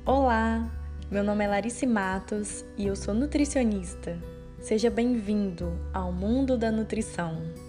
Olá, meu nome é Larice Matos e eu sou nutricionista. Seja bem-vindo ao mundo da nutrição.